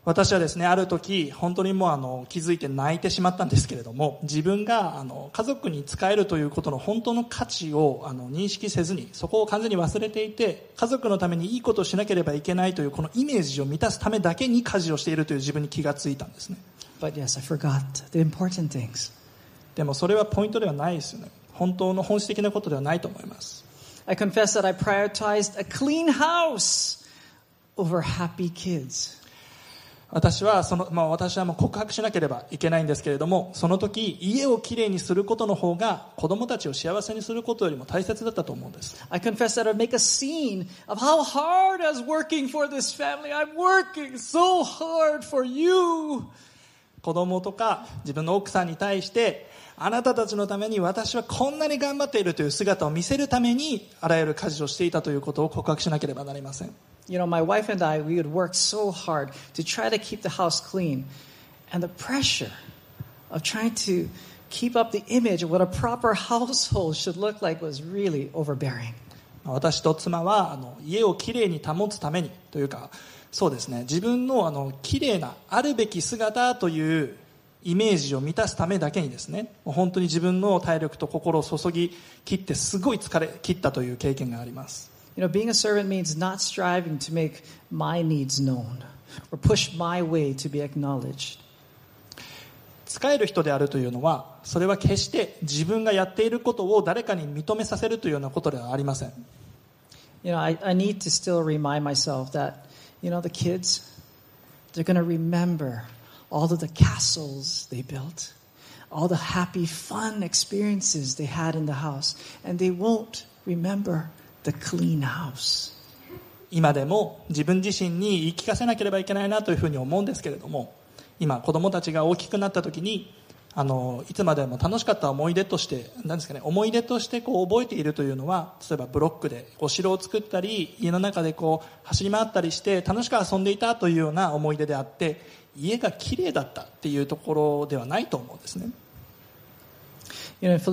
私はですね、ある時本当にもう気づいて泣いてしまったんですけれども、自分が家族に仕えるということの本当の価値を認識せずに、そこを完全に忘れていて、家族のためにいいことをしなければいけないというこのイメージを満たすためだけに家事をしているという自分に気がついたんですね。 But yes, I forgot the important things. でもそれはポイントではないですよね。本当の本質的なことではないと思います。 I confess that I prioritized a clean house over happy kids. 私はもう告白しなければいけないんですけれども、その時家をきれいにすることの方が子供たちを幸せにすることよりも大切だったと思うんです。 I confess that I make a scene of how hard I was working for this family. I'm working so hard for you. 子供とか自分の奥さんに対して、あなたたちのために私はこんなに頑張っているという姿を見せるためにあらゆる家事をしていたということを告白しなければなりません。 You know, my wife and I, we would work so hard to try to keep the house clean. And the pressure of trying to keep up the image of what a proper household should look like was really overbearing. 私と妻は家をきれいに保つためにというか、そうですね、自分のきれいなあるべき姿というイメージを満たすためだけにですね、本当に自分の体力と心を注ぎ切ってすごい疲れ切ったという経験があります。 You know, being a servant means not striving to make my needs known or push my way to be acknowledged. 仕える人であるというのは、それは決して自分がやっていることを誰かに認めさせるというようなことではありません。 You know, I need to still remind myself that, you know, the kids, they're going to remember all of the castles they built, all the happy, fun experiences they had in the house, and they won't remember the clean house. 今でも自分自身に言い聞かせなければいけないなというふうに思うんですけれども、今子供たちが大きくなった時にいつまでも楽しかった思い出として思い出として覚えているというのは、例えばブロックでお城を作ったり家の中で走り回ったりして楽しく遊んでいたというような思い出であって、家がきれいだったっていうところではないと思うんですね。 You know, in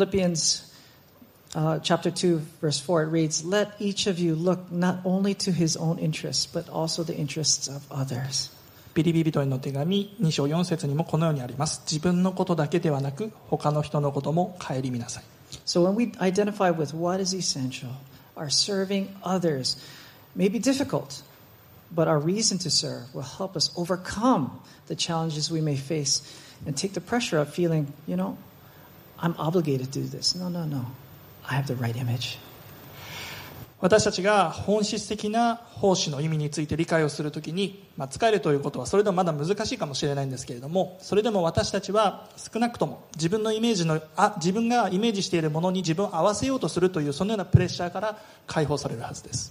Philippians、chapter 2 verse 4 it reads, "Let each of you look not only to his own interests but also the interests of others." ピリピ人への手紙2章4節にもこのようにあります。自分のことだけではなく他の人のことも顧みなさい。 So when we identify with what is essential, our serving others may be difficult, but our reason to serve will help us overcome the challenges we may face and take the pressure of feeling, you know, I'm obligated to do this. No. I have the right image. 私たちが本質的な奉仕の意味について理解をするときに、仕えるということはそれでもまだ難しいかもしれないんですけれども、それでも私たちは少なくとも自分がイメージしているものに自分を合わせようとするというそのようなプレッシャーから解放されるはずです。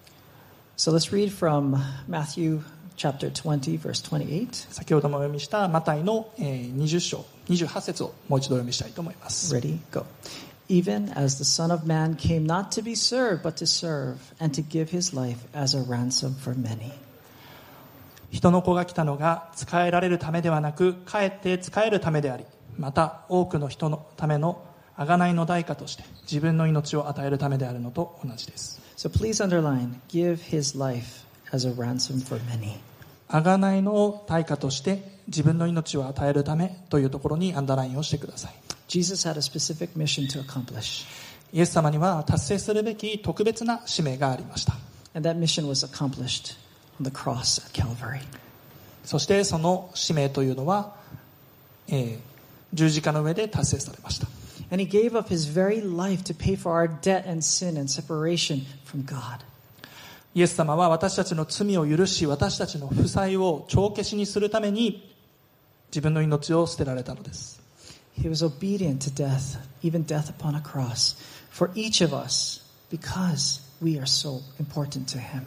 So let's read from Matthew chapter 20 verse 28. 先ほどもお読みしたマタイの20章28節をもう一度お読みしたいと思います。 Ready? Go. Even as the Son of Man came not to be served, but to serve, and to give his life as a ransom for many. 人の子が来たのが仕えられるためではなく、かえって仕えるためであり、また多くの人のための贖いの代価として自分の命を与えるためであるのと同じです。 So please underline, give his life as a ransom for many. 贖いの対価として自分の命を与えるためというところにアンダーラインをしてください。 Jesus had a specific mission to accomplish. イエス様には達成するべき特別な使命がありました。 And that mission was accomplished on the cross at Calvary. そしてその使命というのは、十字架の上で達成されました。 And he gave up his very life to pay for our debt and sin and separation from God. イエス様は私たちの罪を許し、私たちの負債を帳消しにするために自分の命を捨てられたのです。 He was obedient to death, even death upon a cross, for each of us, because we are so important to him.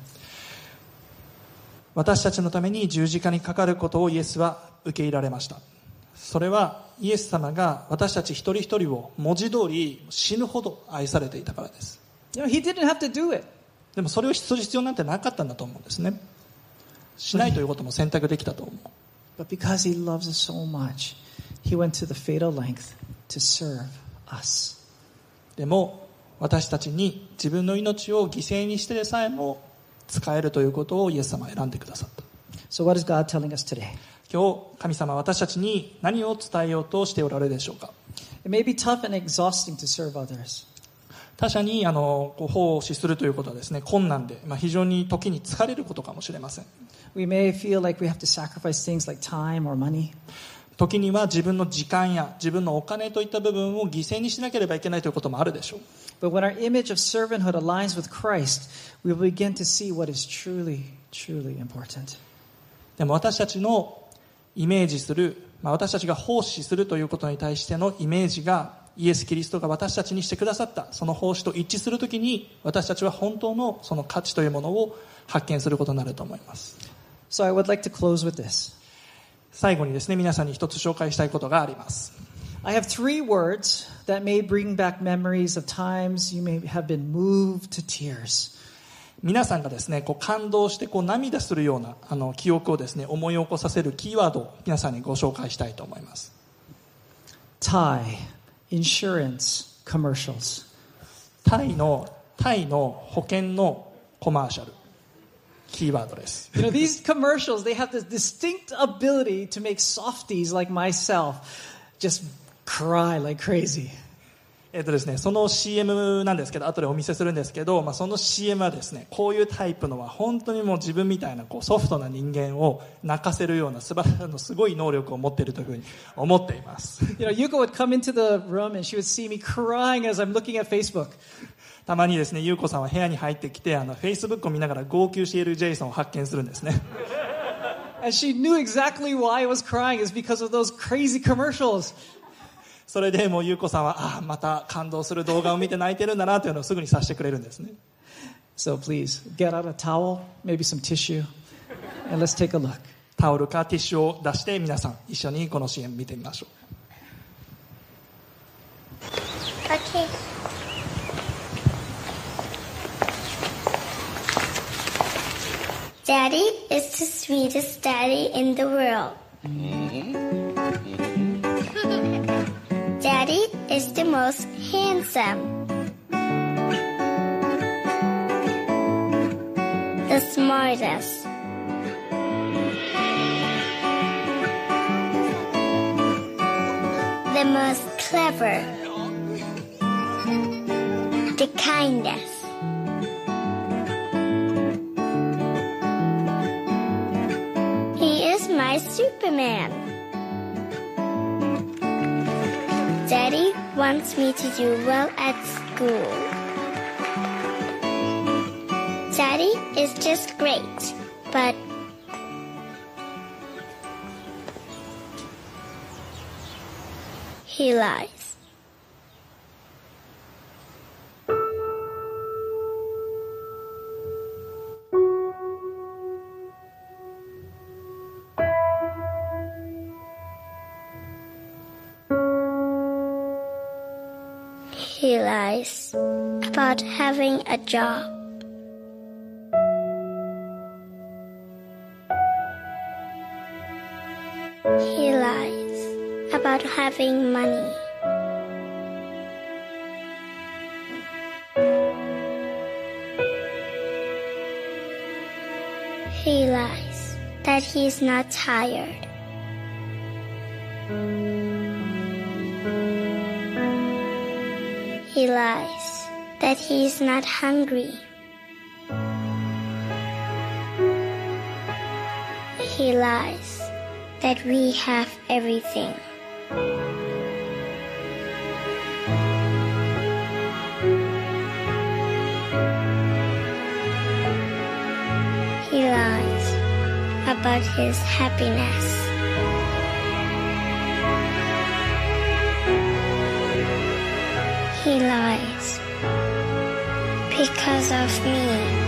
私たちのために十字架にかかることをイエスは受け入れられました。それはイエス様が私たち一人一人を文字通り死ぬほど愛されていたからです。 You know, he didn't have to do it. でもそれをする必要なんてなかったんだと思うんですね。しないということも選択できたと思う。 But because he loves us so much, he went to the fatal length to serve us. でも私たちに自分の命を犠牲にしてでさえも使えるということをイエス様は選んでくださった。 So what is God telling us today? 今日神様は私たちに何を伝えようとしておられるでしょうか。 It may be tough and exhausting to serve others. 他者に奉仕するということはですね、困難で、非常に時に疲れることかもしれません。 We may feel like we have to sacrifice things like time or money. 時には自分の時間や自分のお金といった部分を犠牲にしなければいけないということもあるでしょう。 But when our image of servanthood aligns with Christ, we will begin to see what is truly, truly important. でも私たちのイメージする、私たちが奉仕するということに対してのイメージがイエス・キリストが私たちにしてくださったその奉仕と一致するときに、私たちは本当のその価値というものを発見することになると思います。 So I would like to close with this. 最後にですね、皆さんに一つ紹介したいことがあります。 I have 3 words that may bring back memories of times you may have been moved to tears. 皆さんがですね、感動して涙するような記憶をですね、思い起こさせるキーワードを皆さんにご紹介したいと思います。 Thai, insurance, commercials. タイの保険のコマーシャル、キーワードです。 You know, these commercials, they have this distinct ability to make softies like myself just cry like crazy. ですね、その CM なんですけど、後でお見せするんですけど、その CM はですね、こういうタイプのは本当にもう自分みたいなソフトな人間を泣かせるようなすごい能力を持っているというふうに思っています。 You know, Yuko would come into the room and she would see me crying as I'm looking at Facebook. たまにですね、優子さんは部屋に入ってきて、Facebook を見ながら号泣しているジェイソンを発見するんですね。 And she knew exactly why I was crying is because of those crazy commercials. それでもう優子さんはまた感動する動画を見て泣いてるんだなというのをすぐに察してくれるんですね。 So please get out a towel, maybe some tissue, and let's take a look. タオルかティッシュを出して皆さん一緒にこの CM 見てみましょう。 Okay. Daddy is the sweetest daddy in the world. Daddy is the most handsome, the smartest, the most clever, the kindest. He is my Superman. Daddy wants me to do well at school. Daddy is just great, but he lies. He lies about having a job. He lies about having money. He lies that he's not tired. He lies that he's not hungry. He lies that we have everything. He lies about his happiness. He lies because of me.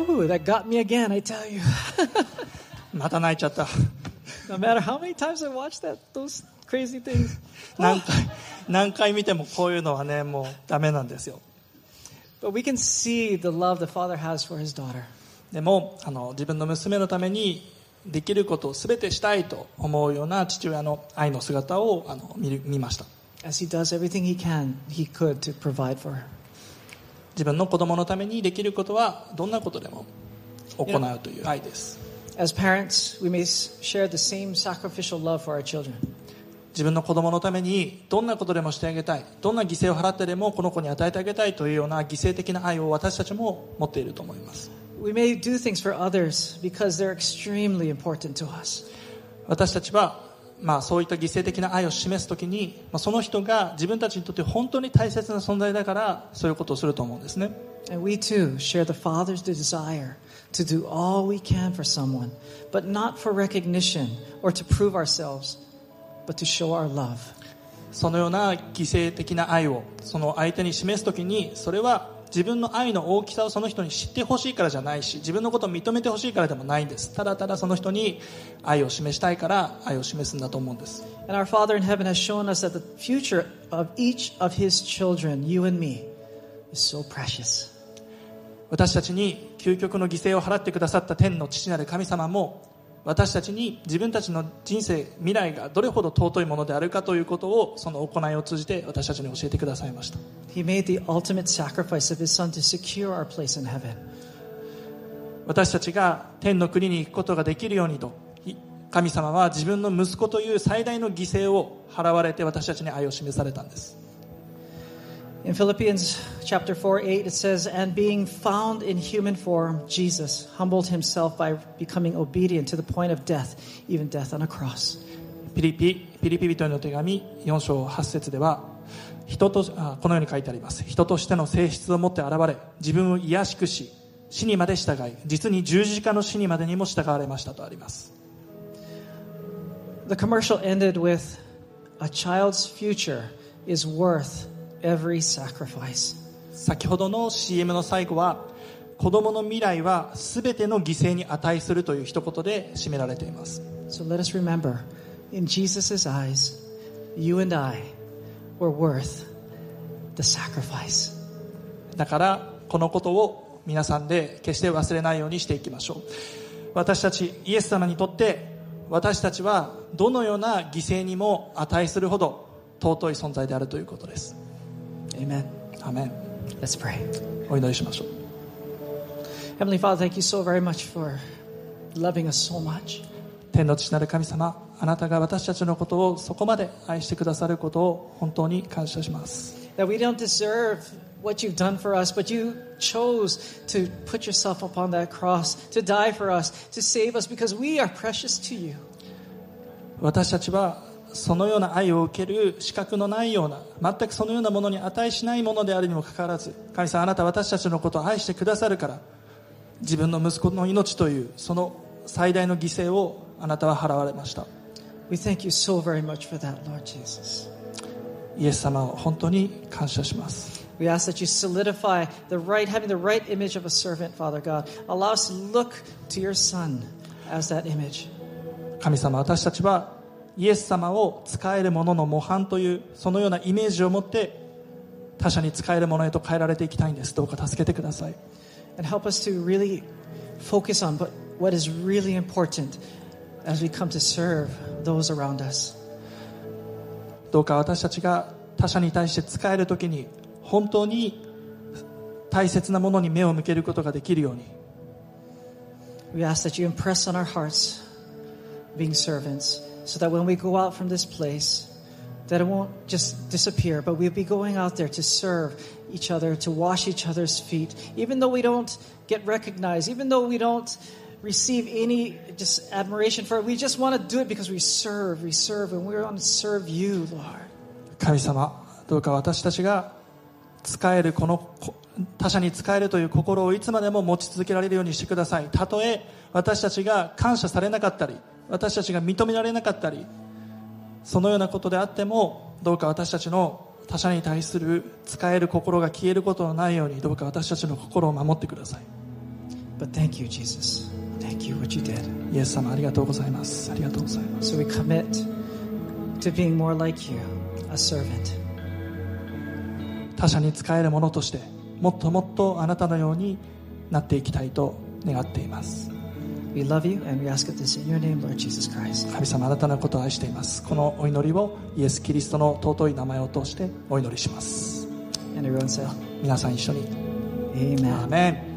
Ooh, that got me again, I tell you. また泣いちゃった。 No matter how many times I watch those crazy things. 何回見てもこういうのはね、もうダメなんですよ。 But we can see the love the Father has for his daughter. でも自分の娘のためにできることを全てしたいと思うような父親の愛の姿を見ました。 As he does everything he could to provide for her. 自分の子供のためにできることはどんなことでも行うという愛です。 As parents, we may share the same sacrificial love for our children. 自分の子供のためにどんなことでもしてあげたい、どんな犠牲を払ってでもこの子に与えてあげたいというような犠牲的な愛を私たちも持っていると思います。 We may do things for others because they're extremely important to us. 私たちはそういった犠牲的な愛を示すときに、その人が自分たちにとって本当に大切な存在だからそういうことをすると思うんですね。 And we too share the Father's desire to do all we can for someone, but not for recognition or to prove ourselves, but to show our love. そのような犠牲的な愛をその相手に示すときに、それは自分の愛の大きさをその人に知ってほしいからじゃないし、自分のことを認めてほしいからでもないんです。ただただその人に愛を示したいから愛を示すんだと思うんです。 And our Father in heaven has shown us that the future of each of His children, you and me, is so precious. 私たちに究極の犠牲を払ってくださった天の父なる神様も、私たちに自分たちの人生、未来がどれほど尊いものであるかということをその行いを通じて私たちに教えてくださいました。 He made the ultimate sacrifice of His Son to secure our place in heaven. 私たちが天の国に行くことができるようにと、神様は自分の息子という最大の犠牲を払われて私たちに愛を示されたんです。 In Philippians chapter 4:8 it says, "And being found in human form, Jesus humbled himself by becoming obedient to the point of death, even death on a cross." ピリピ人への手紙4章8節では、このように書いてあります。人としての性質を持って現れ、自分を卑しくし、死にまで従い、実に十字架の死にまでにも従われましたとあります。 The commercial ended with, "A child's future is worth every sacrifice." 先ほどの CM の最後は、子供の未来は全ての犠牲に値するという一言で締められています。 So let us remember, in Jesus' eyes, you and I were worth the sacrifice. だからこのことを皆さんで決して忘れないようにしていきましょう。私たちイエス様にとって、私たちはどのような犠牲にも値するほど尊い存在であるということです。 Amen. アーメン。 Let's pray. お祈りしましょう。 Heavenly Father, thank you so very much for loving us so much. 天の父なる神様、あなたが私たちのことをそこまで愛してくださることを本当に感謝します。 That we don't deserve what you've done for us, but you chose to put yourself upon that cross, to die for us, to save us, because we are precious to you. 私たちはそのような愛を受ける資格のないような、全くそのようなものに値しないものであるにもかかわらず、神様、あなたは私たちのことを愛してくださるから、自分の息子の命というその最大の犠牲をあなたは払われました。 We thank you so very much for that, Lord Jesus. イエス様を本当に感謝します。 We ask that you solidify having the right image of a servant, Father God. Allow us to look to your Son as that image. 神様、私たちはイエス様を使えるものの模範というそのようなイメージを持って他者に使えるものへと変えられていきたいんです。どうか助けてください。 And help us to really focus on what is really important as we come to serve those around us. どうか私たちが他者に対して使えるときに本当に大切なものに目を向けることができるように。 We ask that you impress on our hearts being servants, so that when we go out from this place, that it won't just disappear, but we'll be going out there to serve each other, to wash each other's feet, even though we don't get recognized, even though we don't receive any just admiration for it. We just want to do it because we serve, and we want to serve you, Lord. 神様、どうか私たちが使えるこの他者に使えるという心をいつまでも持ち続けられるようにしてください。たとえ私たちが感謝されなかったり、私たちが認められなかったり、そのようなことであっても、どうか私たちの他者に対する使える心が消えることのないように、どうか私たちの心を守ってください。 But thank you, Jesus. Thank you what you did. イエス様ありがとうございます。ありがとうございます。 So we commit to being more like you, a servant. 他者に仕える者としてもっともっとあなたのようになっていきたいと願っています。 We love you and we ask it this in your name, Lord Jesus Christ. 神様あなたのことを愛しています。このお祈りをイエス・キリストの尊い名前を通してお祈りします。 And everyone said, 皆さん一緒に Amen. アーメン。